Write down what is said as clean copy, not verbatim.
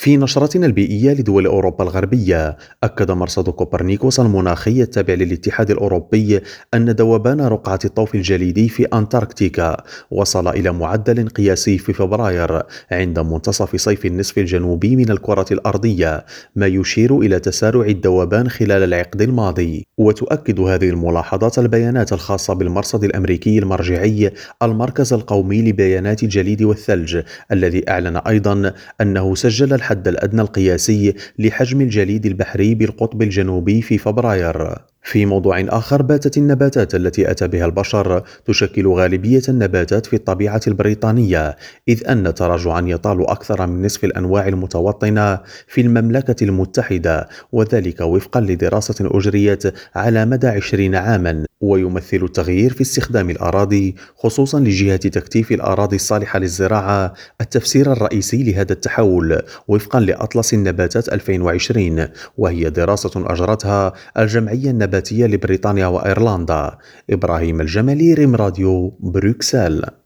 في نشرتنا البيئية لدول أوروبا الغربية، أكد مرصد كوبرنيكوس المناخي التابع للاتحاد الأوروبي أن ذوبان رقعة الطوف الجليدي في أنتاركتيكا وصل إلى معدل قياسي في فبراير عند منتصف صيف النصف الجنوبي من الكرة الأرضية، ما يشير إلى تسارع الذوبان خلال العقد الماضي. وتؤكد هذه الملاحظات البيانات الخاصة بالمرصد الأمريكي المرجعي المركز القومي لبيانات الجليد والثلج، الذي أعلن أيضا أنه سجل الحد الأدنى القياسي لحجم الجليد البحري بالقطب الجنوبي في فبراير. في موضوع آخر، باتت النباتات التي أتى بها البشر تشكل غالبية النباتات في الطبيعة البريطانية، إذ أن تراجعا يطال أكثر من نصف الأنواع المتوطنة في المملكة المتحدة، وذلك وفقا لدراسة أجريت على مدى 20 عاما. ويمثل التغيير في استخدام الأراضي، خصوصا لجهة تكثيف الأراضي الصالحة للزراعة، التفسير الرئيسي لهذا التحول وفقا لأطلس النباتات 2020، وهي دراسة أجرتها الجمعية النباتية لبريطانيا وأيرلندا. إبراهيم الجمالي، ريم راديو، بروكسل.